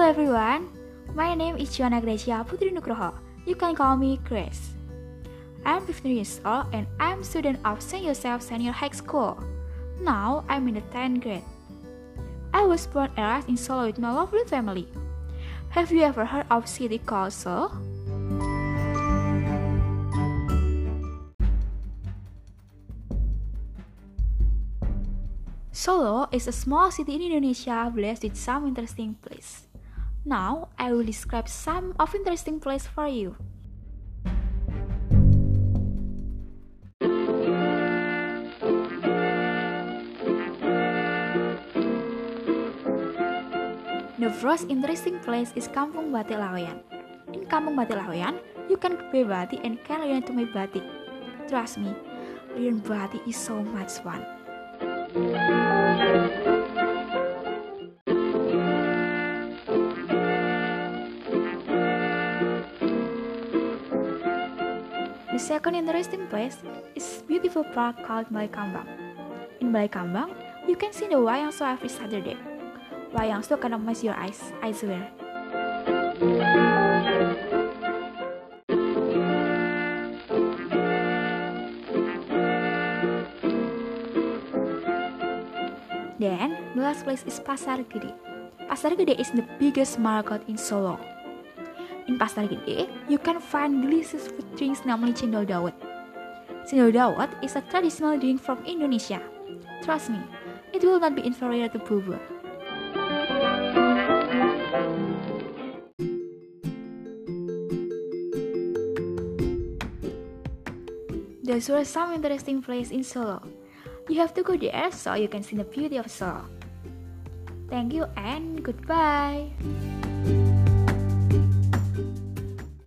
everyone, my name is Joanna Gracia Putri Nugroho. You can call me Grace. I'm 15 years old and I'm a student of St. Joseph Senior High School. Now I'm in the 10th grade. I was born and raised in Solo with my lovely family. Have you ever heard of city called Solo? Solo is a small city in Indonesia blessed with some interesting places. Now, I will describe some of interesting places for you. The first interesting place is Kampung Batik Laweyan. In Kampung Batik Laweyan, you can buy batik and can learn to make batik. Trust me, learn batik is so much fun. The second interesting place is a beautiful park called Balai Kambang. In Balai Kambang, you can see the wayang show every Saturday. Wayang show cannot mess your eyes, I swear. Then, the last place is Pasar Gede. Pasar Gede is the biggest market in Solo. In Pasar Gede, you can find delicious food drinks namely cendol dawet. Cendol dawet is a traditional drink from Indonesia. Trust me, it will not be inferior to bubur. Those were some interesting places in Solo. You have to go there so you can see the beauty of Solo. Thank you and goodbye.